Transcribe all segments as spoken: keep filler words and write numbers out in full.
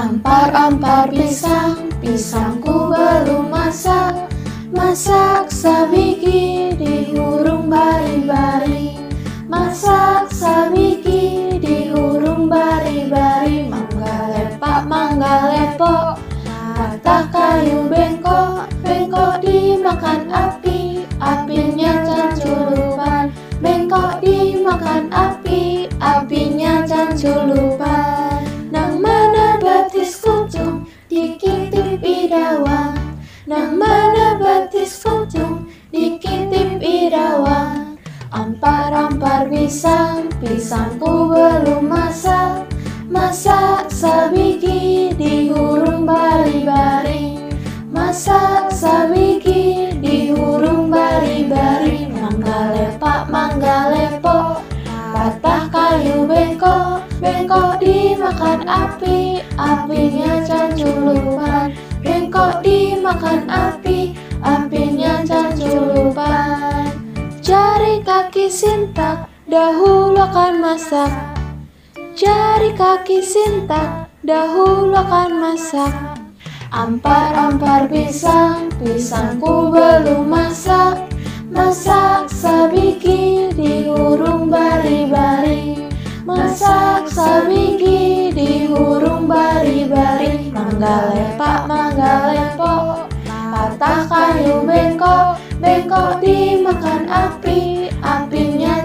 Ampar-ampar pisang, pisangku belum masak. Masak sabiki dihurung bari-bari. Masak sabiki dihurung bari-bari. Mangga lepak, mangga lepok, patah kayu bengkok. Bengkok dimakan api, apinya canculupan. Bengkok dimakan api, apinya canculupan. Nang mana batis kucung, dikitip idawang. Nang mana batis kucung, dikitip idawang. Ampar-ampar pisang, pisangku belum masak. Masak sabiki dihurung bari-bari. Masak sabiki dihurung bari-bari. Mangga lepak, mangga lepok, patah kayu bengkok. Bengkok dimakan api, apinya canculupan. Bengkok dimakan api, apinya canculupan. Jari kaki sintak, dahulu akan masak. Jari kaki sintak, dahulu akan masak. Ampar-ampar pisang, pisangku belum masak. Masak sabiki dihurung bari-bari. Masak sabiki dihurung bari-bari. Mangga lepak, mangga lepok, patah kayu bengkok. Bengkok dimakan api, apinya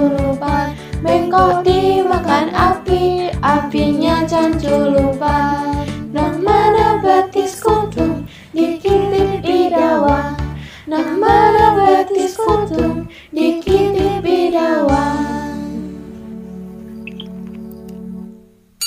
canculupan. Bengkok dimakan api, apinya canculupan.